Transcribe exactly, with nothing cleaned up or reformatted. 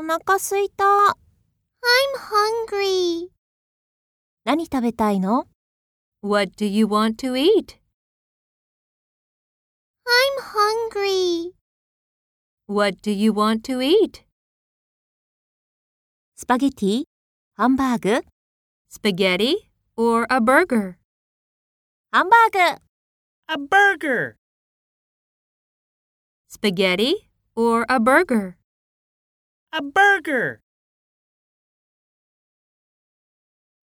腹すいた。 I'm hungry. 何食べたいの？ What do you want to eat? I'm hungry. What do you want to eat? スパゲティ、ハンバーグ、 Spaghetti or a burger? ハンバーグ。 A burger. Spaghetti or a burger? A burger.